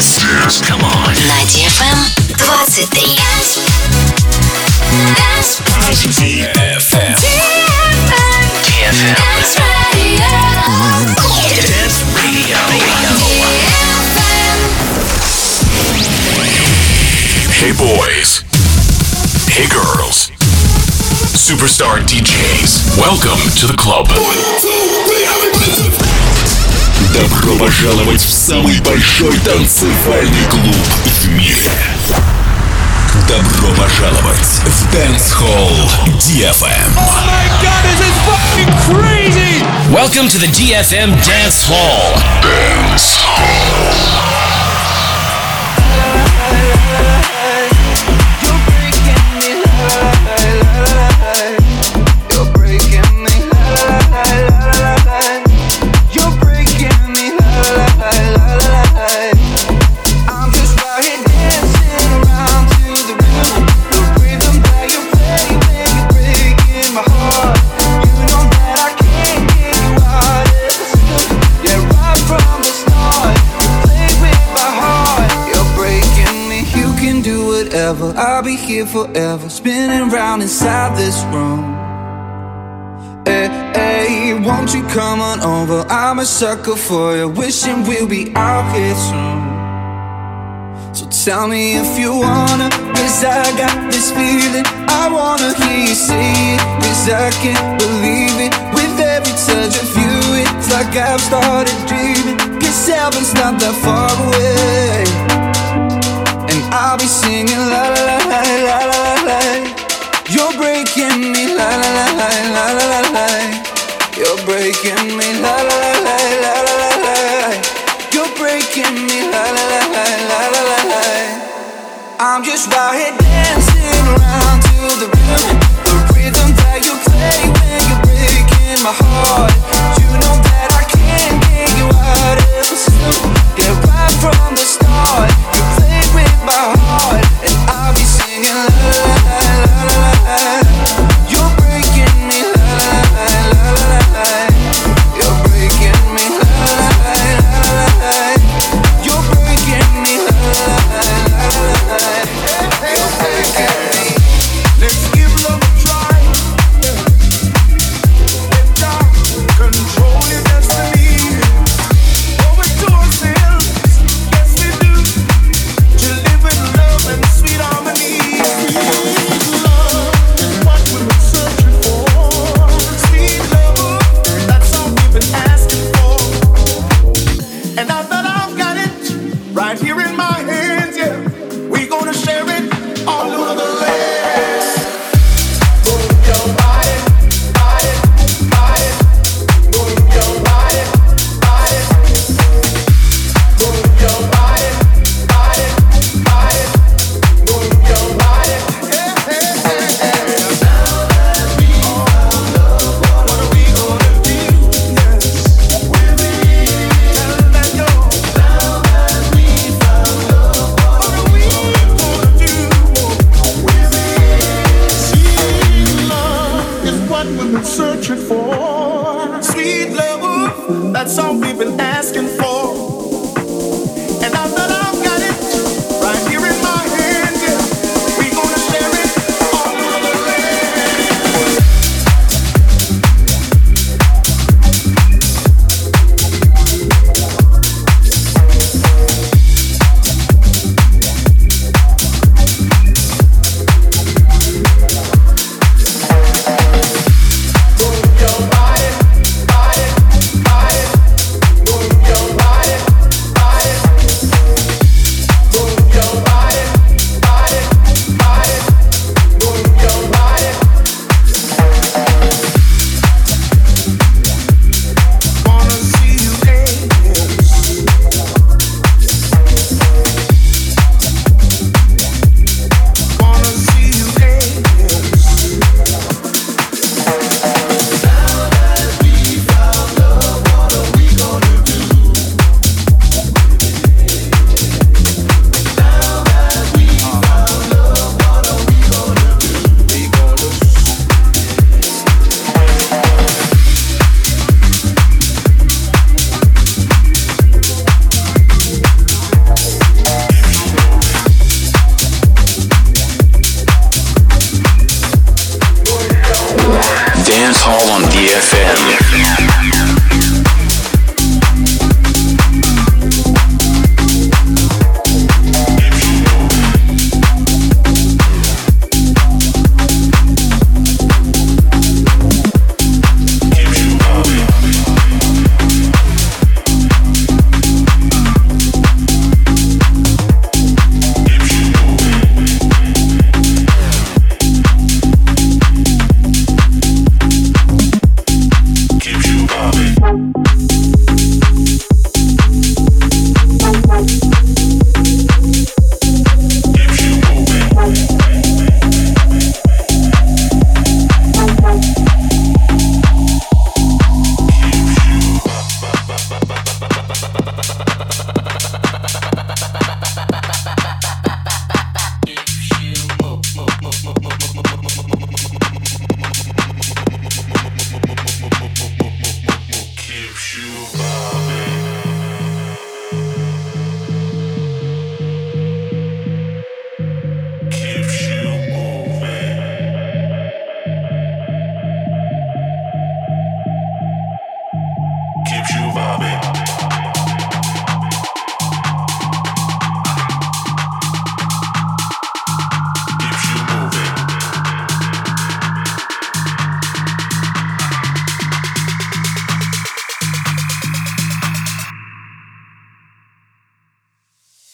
Come on. На DFM 23. DFM. Dance Radio. Hey boys. Hey girls. Superstar DJs. Welcome to the club. Добро пожаловать в самый большой танцевальный клуб в мире. Добро пожаловать в Dance Hall DFM. Oh my God, this is fucking crazy! Welcome to the DFM Dance Hall. Dance Hall. I'll be here forever, spinning round inside this room. Hey, hey, won't you come on over? I'm a sucker for you, wishing we'll be out here soon. So tell me if you wanna, cause I got this feeling. I wanna hear you say it, cause I can't believe it. With every touch of you, it's like I've started dreaming. Cause heaven's not that far away. I'll be singing la la la la la la la. You're breaking me la la la la la la la la. You're breaking me la la la la la la la la. You're breaking me la la la la la la la la. I'm just out here dancing around to the rhythm, the rhythm that you play when you're breaking my heart. You know that I can't get you out of the system. Yeah, right from the start. You played with my heart, and I'll be singing la la la la la la. You're breaking me la la la la la la. You're breaking me la la la la la la. You're breaking me la la la la la la. You're breaking me. Let's give love a try. Let God control your destiny. Over to ourselves, yes we do. To live in love and sweet harmony. Sweet love is what we've been searching for. Sweet love, that's all we've been asking for. And now that I've got it right here in my hands, yeah, we gonna share it all over the land. Move your body, body, body. Move your body, body. Move your body, body, body. Move your body. Hey, hey, hey, hey. Now that we found love, what are we gonna do? Yes, we're tell that go. Now that we found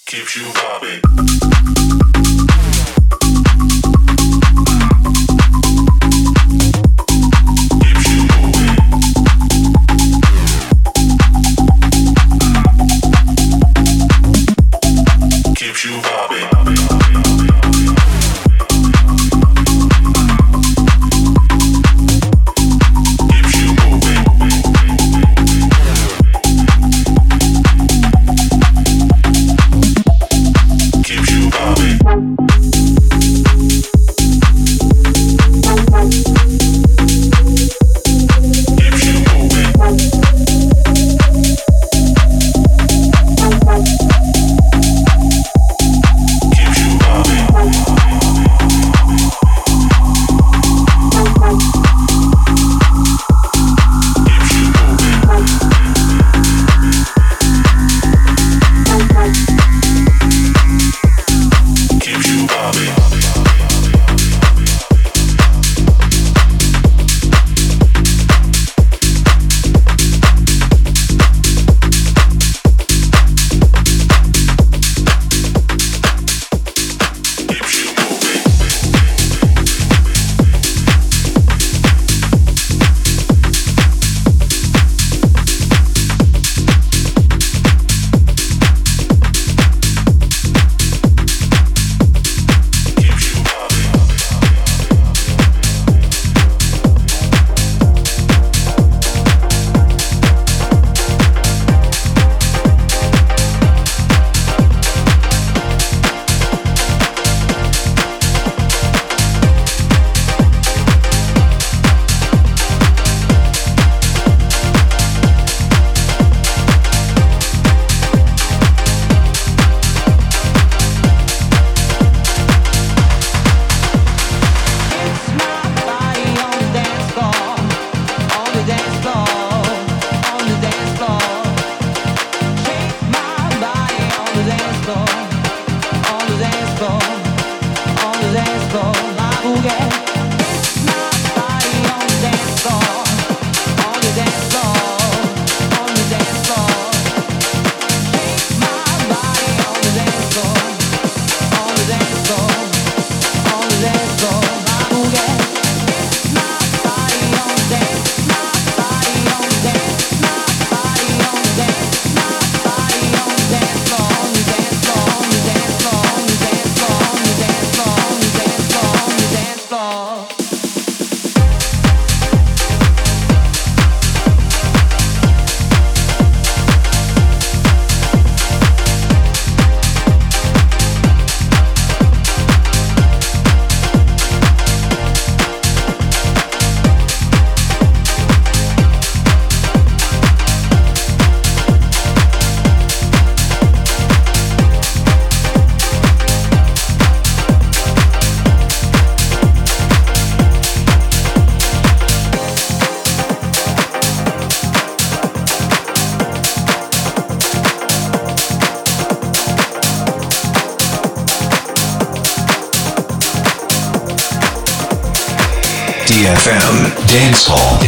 DFM Dance Hall.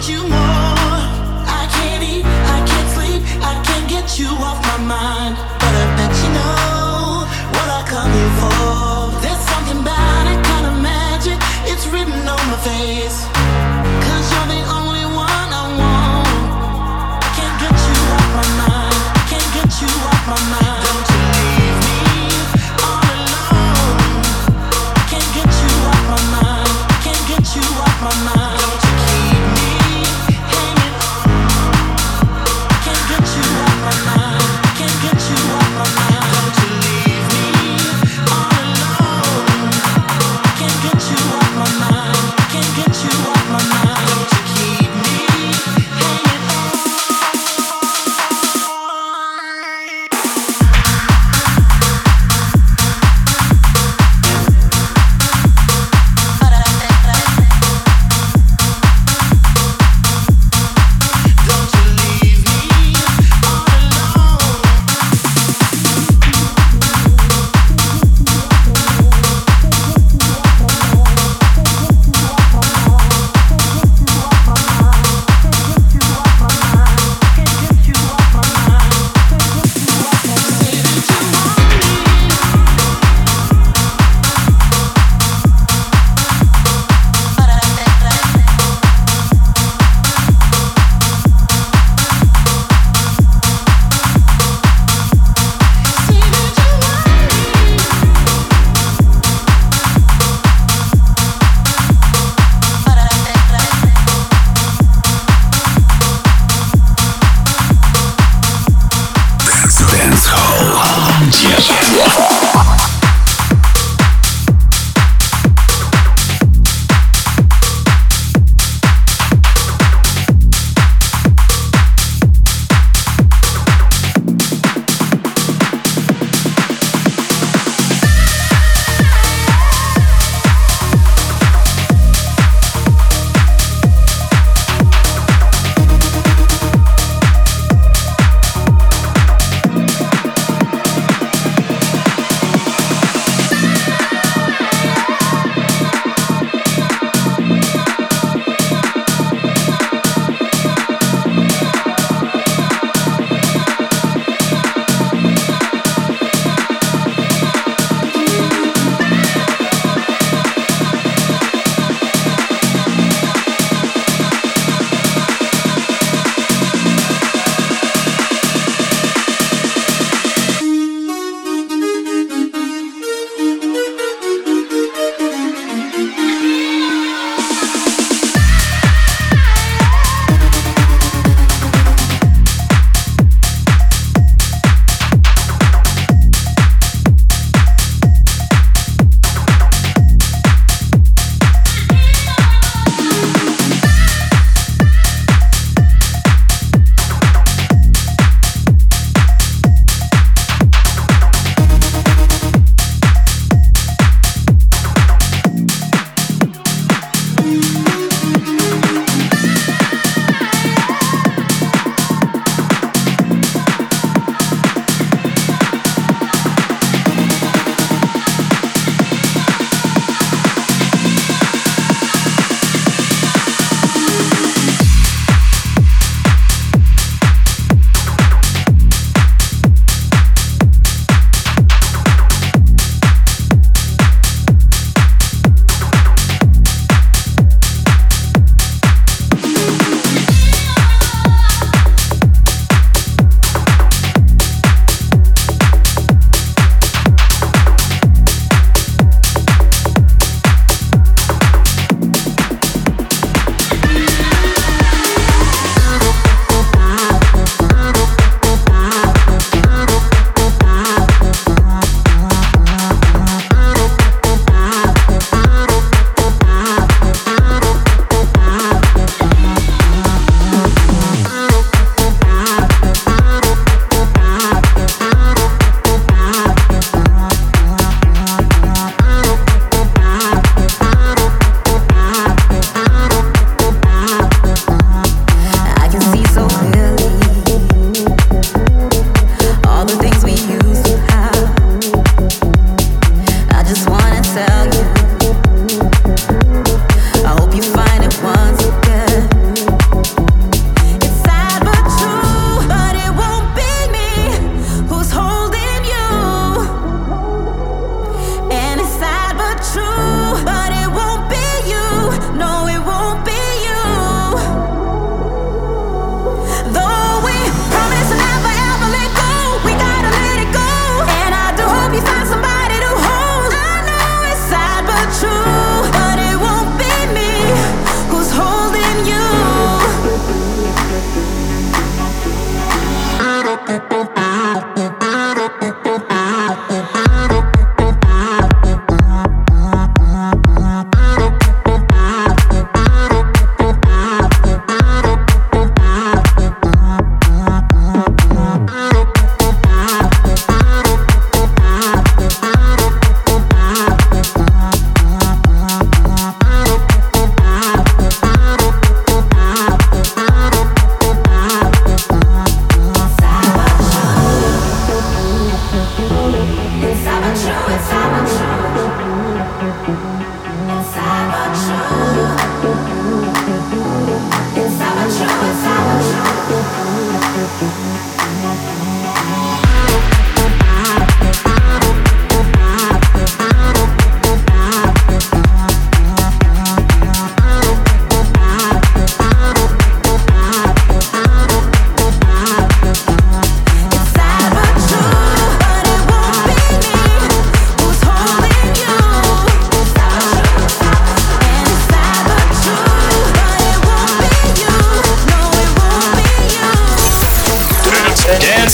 you more. I can't eat, I can't sleep, I can't get you off my mind. But I bet you know what I come here for. There's something about it, kind of magic, it's written on my face. 'Cause you're the only one I want. Can't get you off my mind, can't get you off my mind. Don't you leave me all alone. Can't get you off my mind, can't get you off my mind. Don't you keep me hanging on. Can't get you off my mind, can't get you off my mind. Don't you leave me all alone. Can't get you off my mind, can't get you off.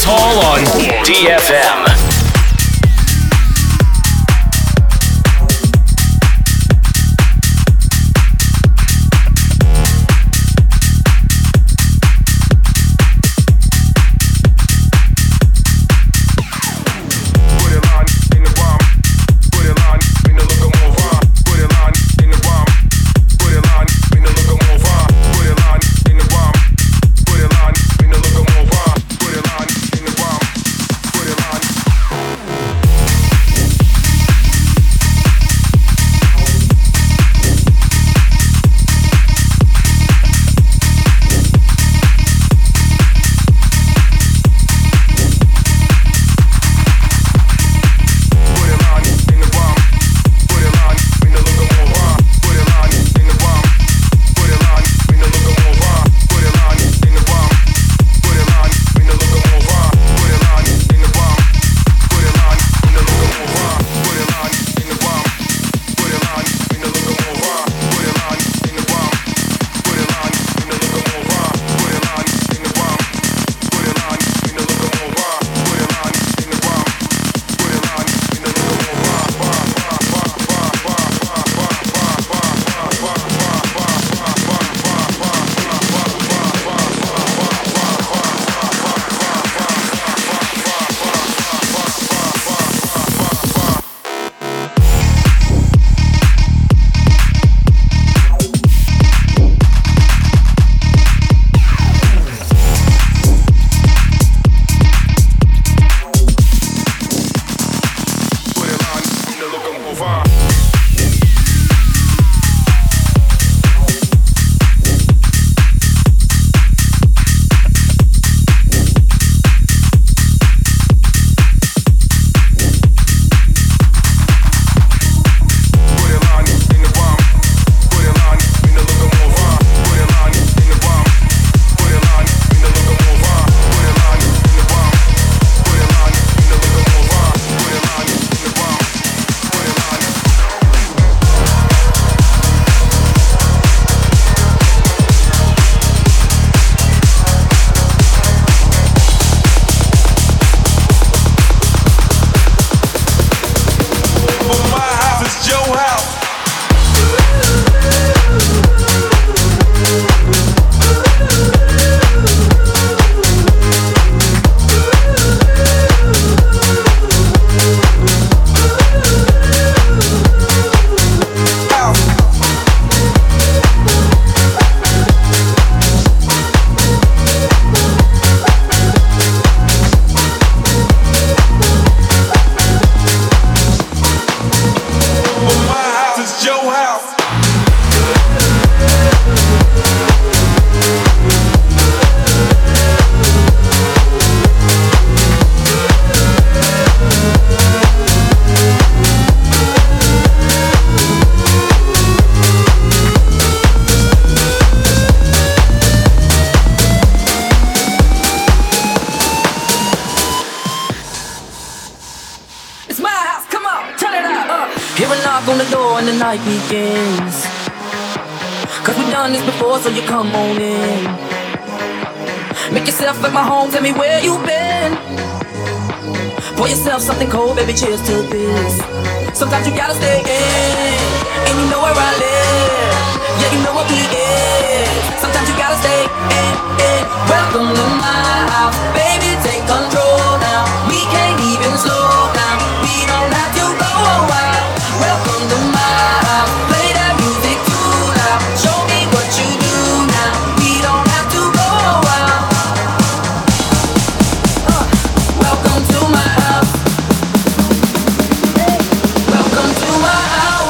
Hall on DFM. So you come on in. Make yourself at my home, tell me where you been. Pour yourself something cold, baby, cheers to this. Sometimes you gotta stay in, and you know where I live. Yeah, you know what we is. Sometimes you gotta stay in. Welcome to my house, baby, take control now. We can't even slow down, we don't have to go wild. Welcome to my house, play that music too loud. Show me what you do now, we don't have to go wild. Welcome to my house. Welcome to my house.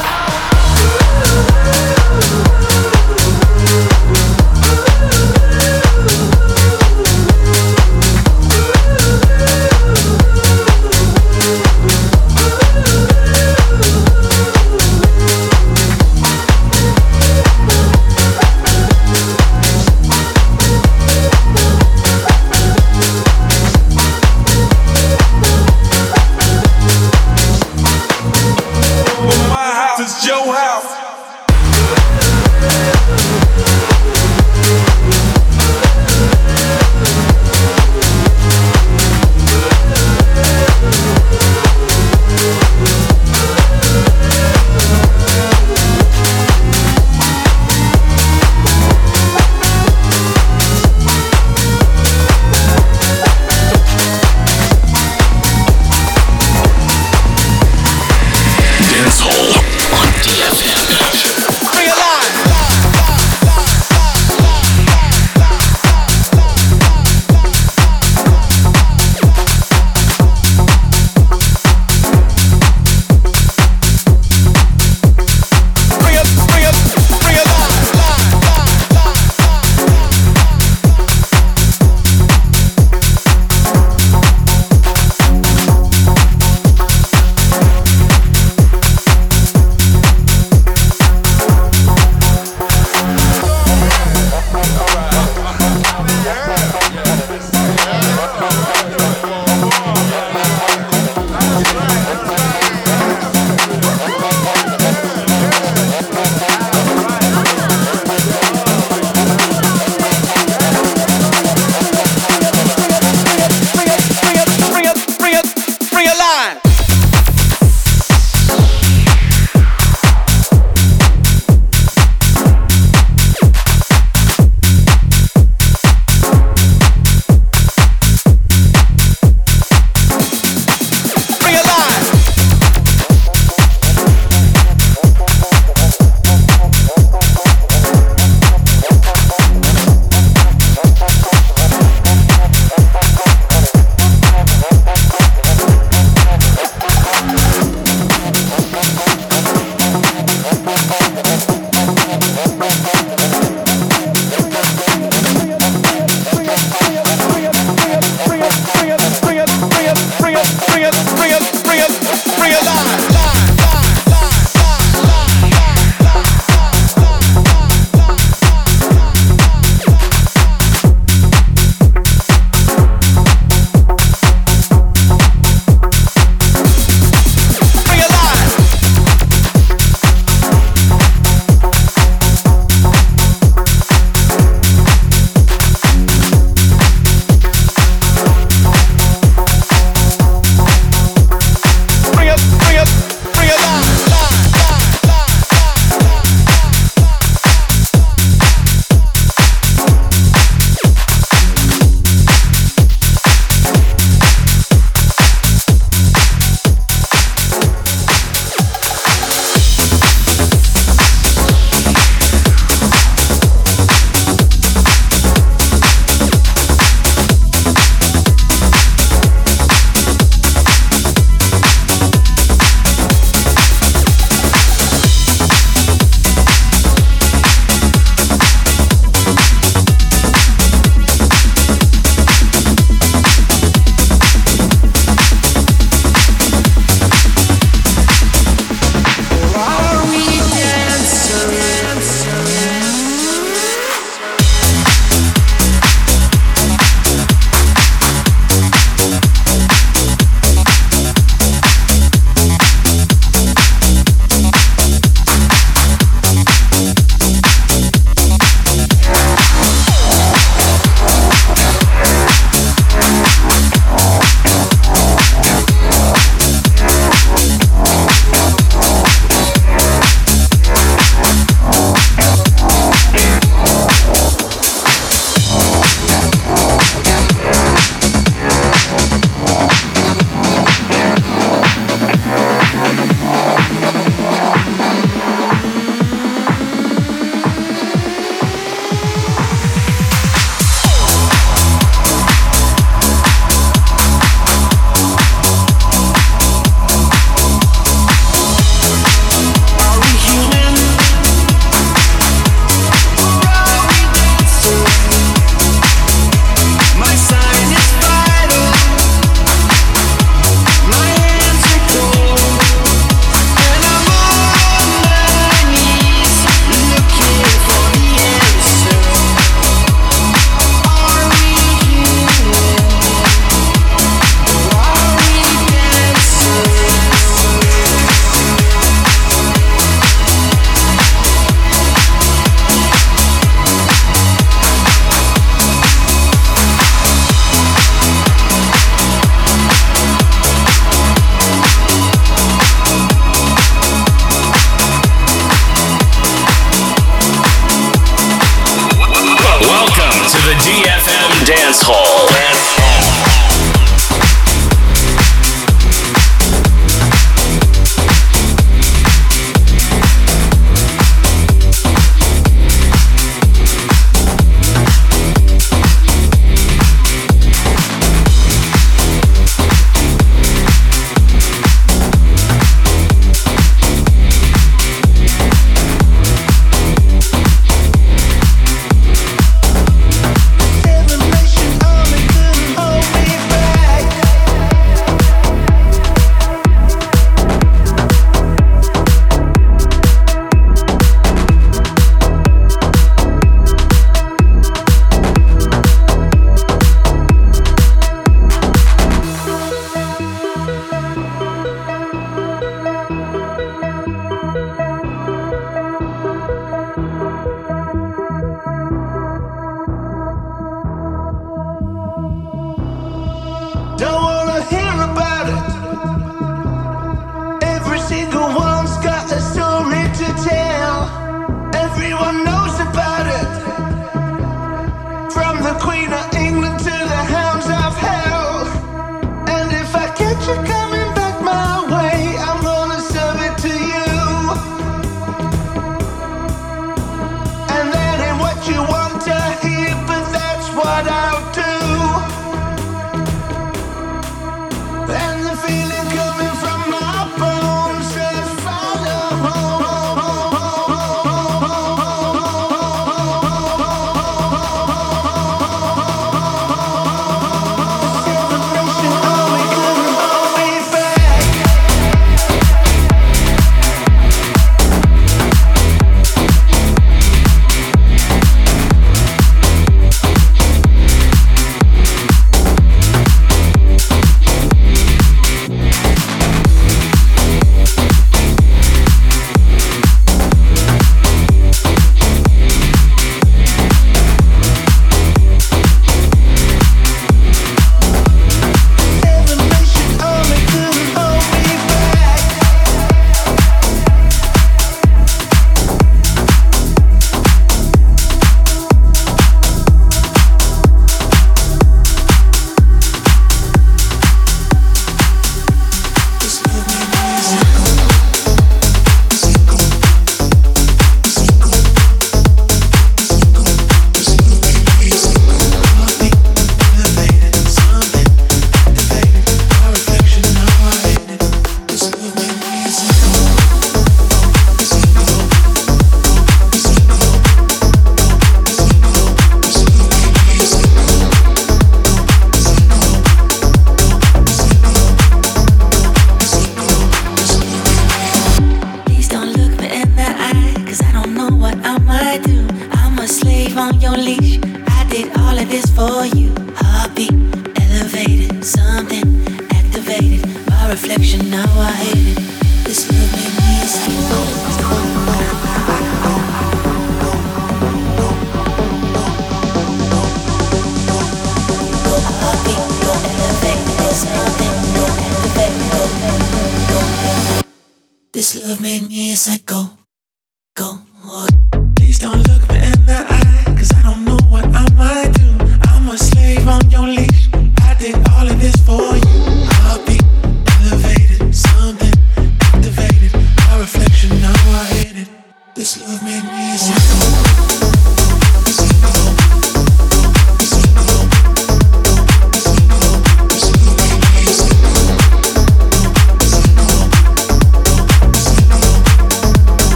Dance Hall.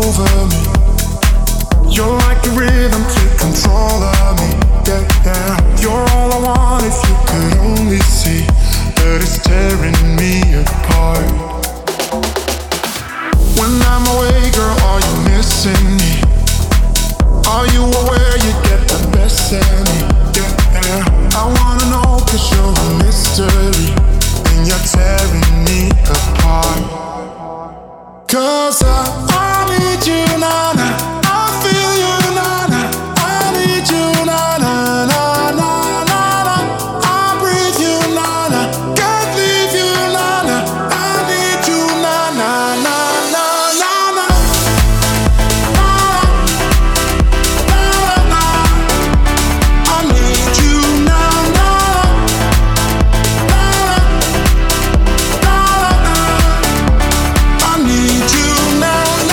over me. You're like the rhythm, take control of me. Yeah, yeah. You're all I want if you could only see that it's tearing me apart. When I'm away, girl, are you missing me? Are you aware you get the best of me? Yeah, yeah. I wanna know 'cause you're a mystery and you're tearing me apart. 'Cause I need you, na-na. I feel you, na-na. I need you, na-na, na-na, na-na. I breathe you, na-na. Can't leave you, na-na. I need you, na-na, na-na, na-na. I need you, na-na. I need you now.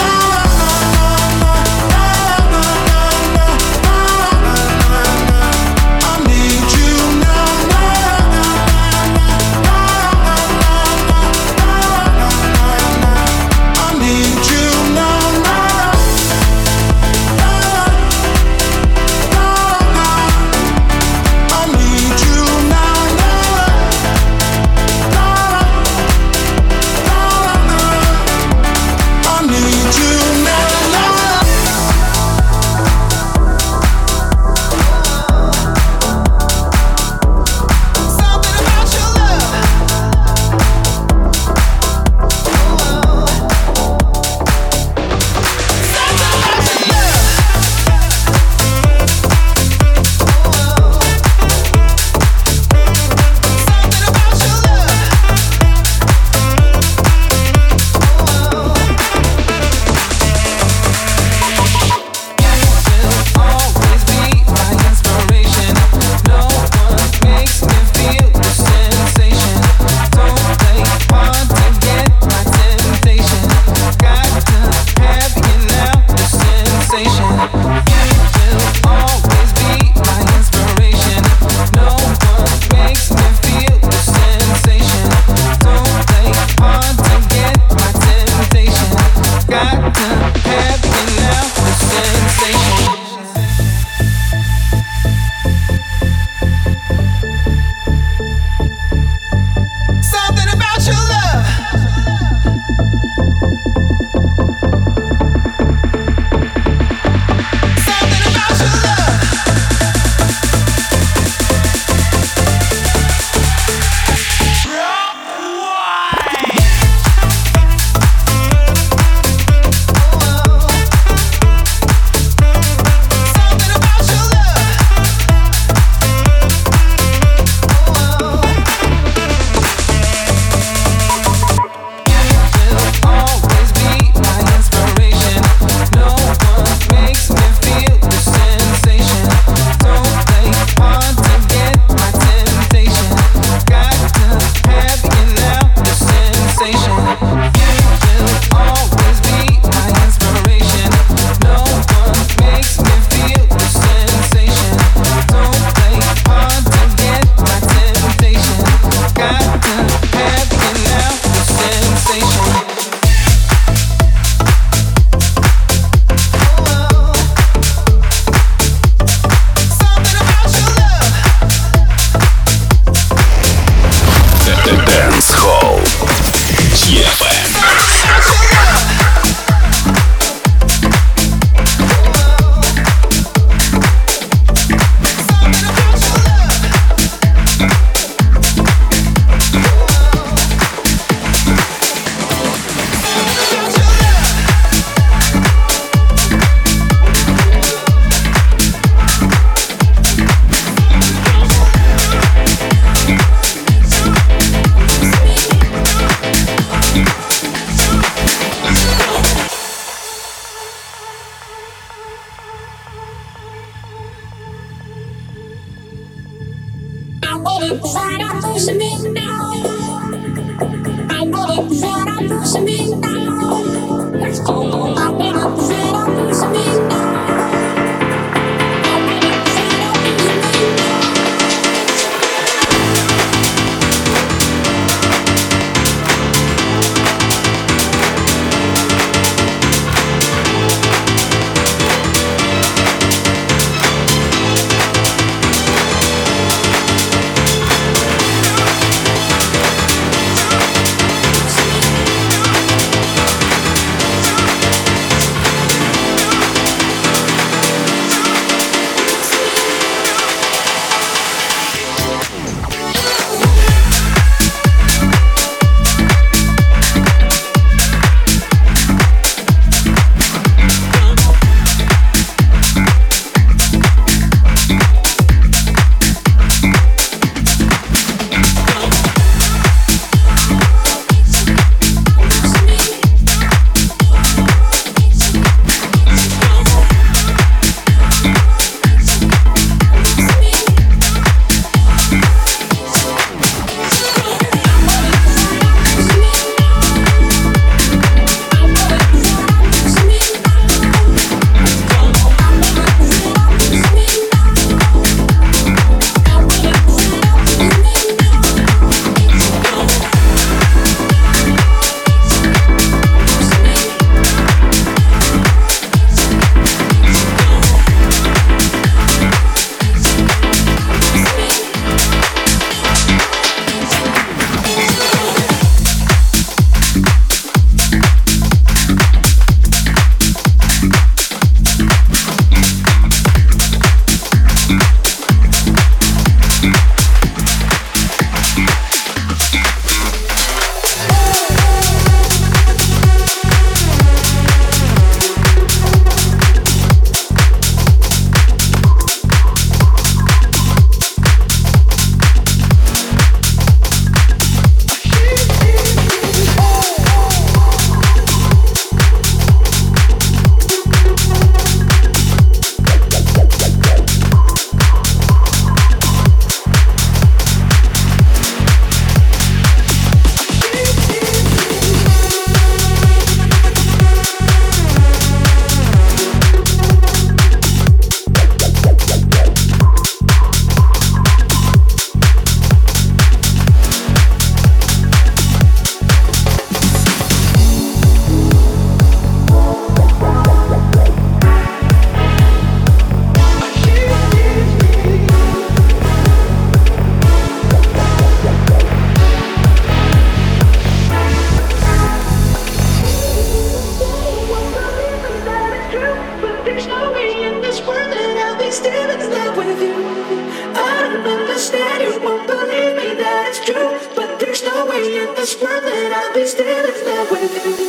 be still in love with you.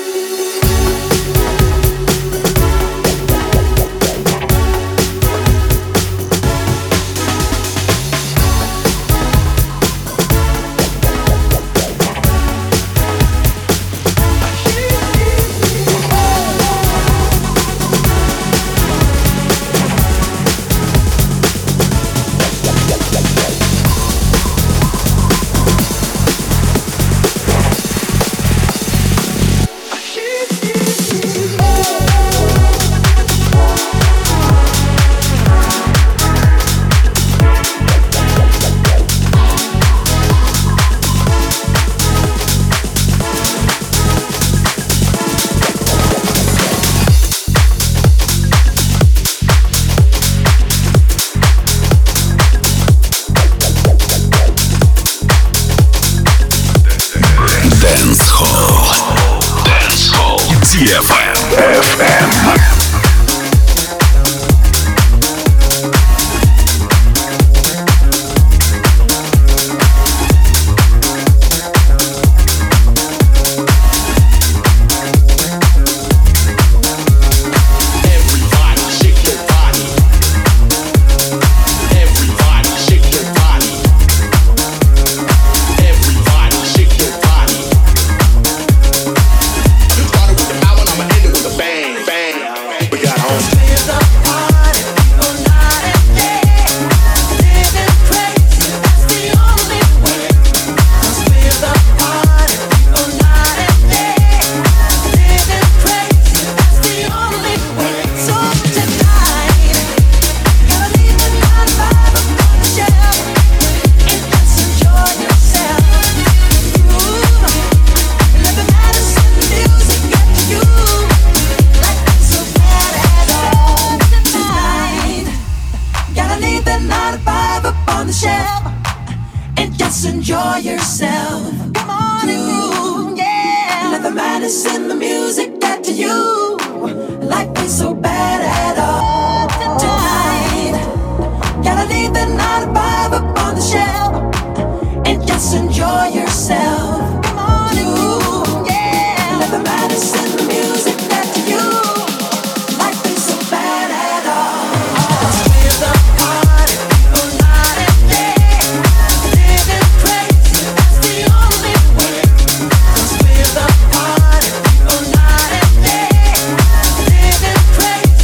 Crazy.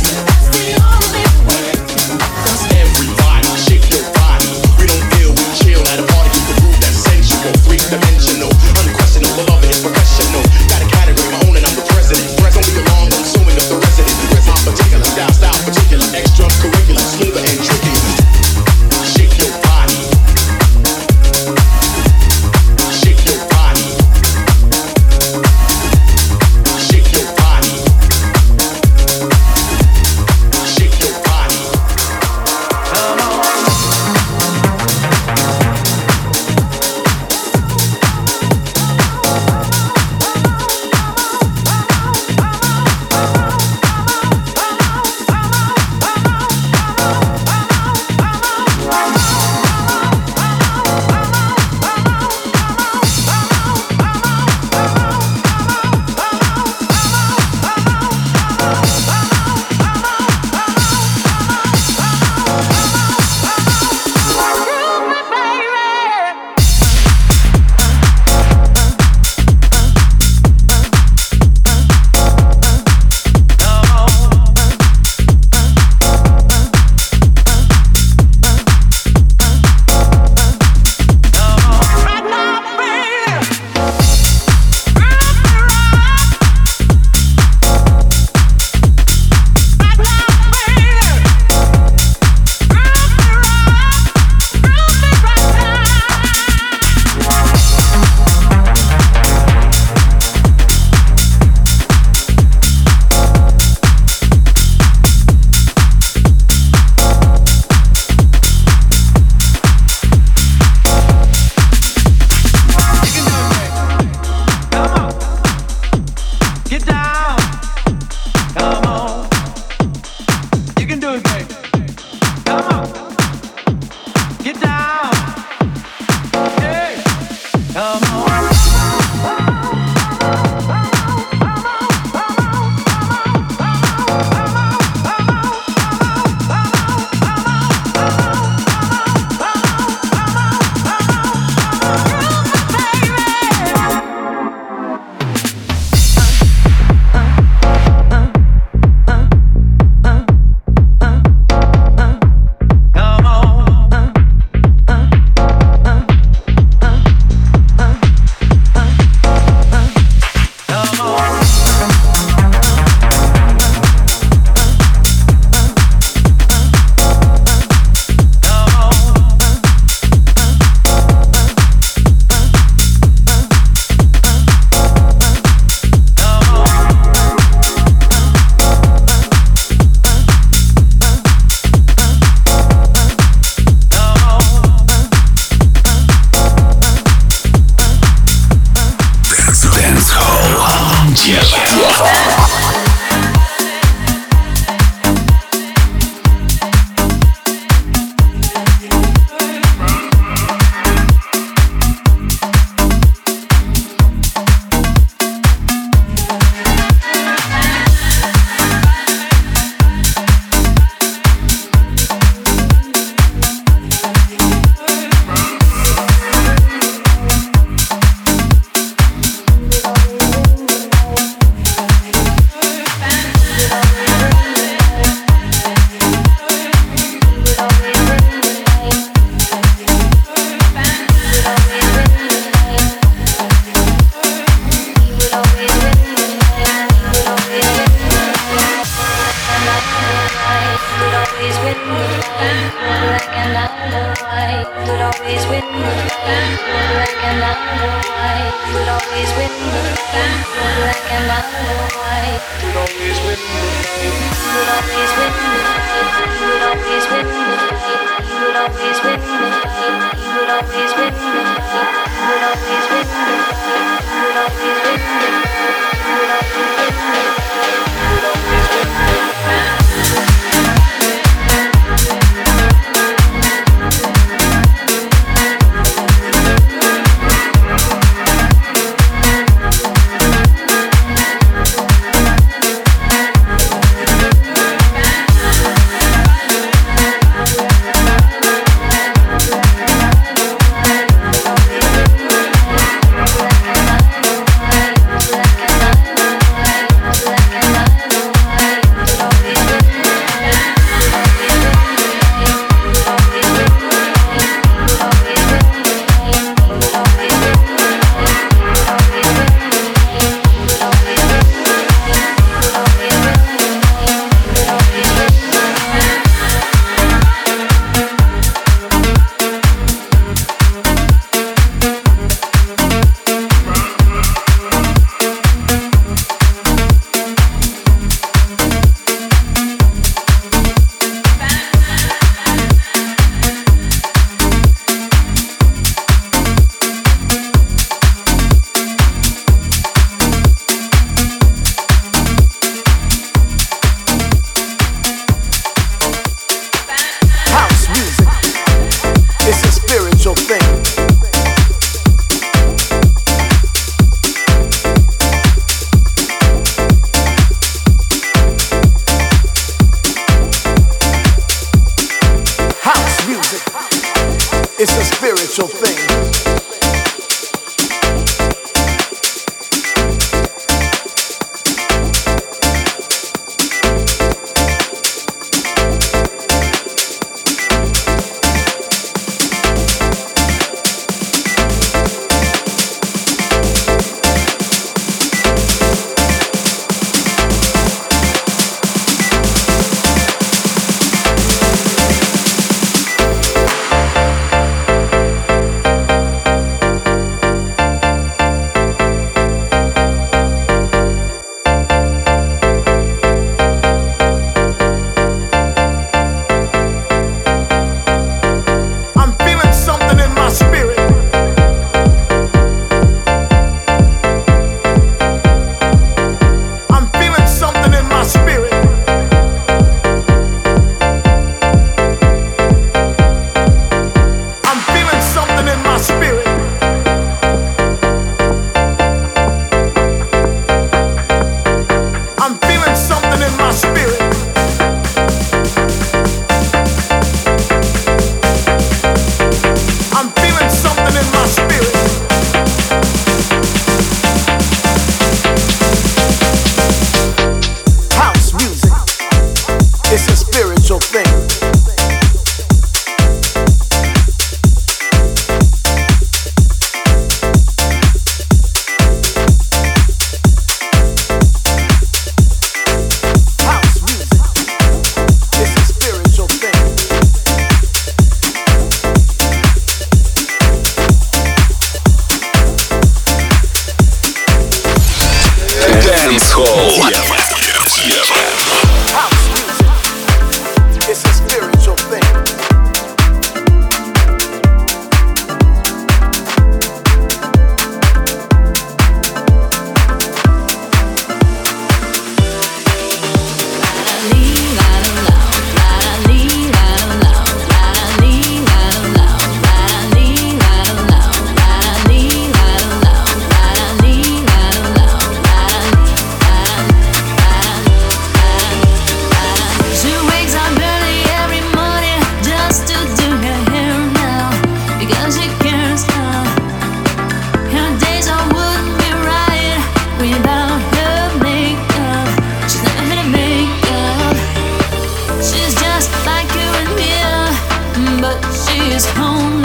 is home.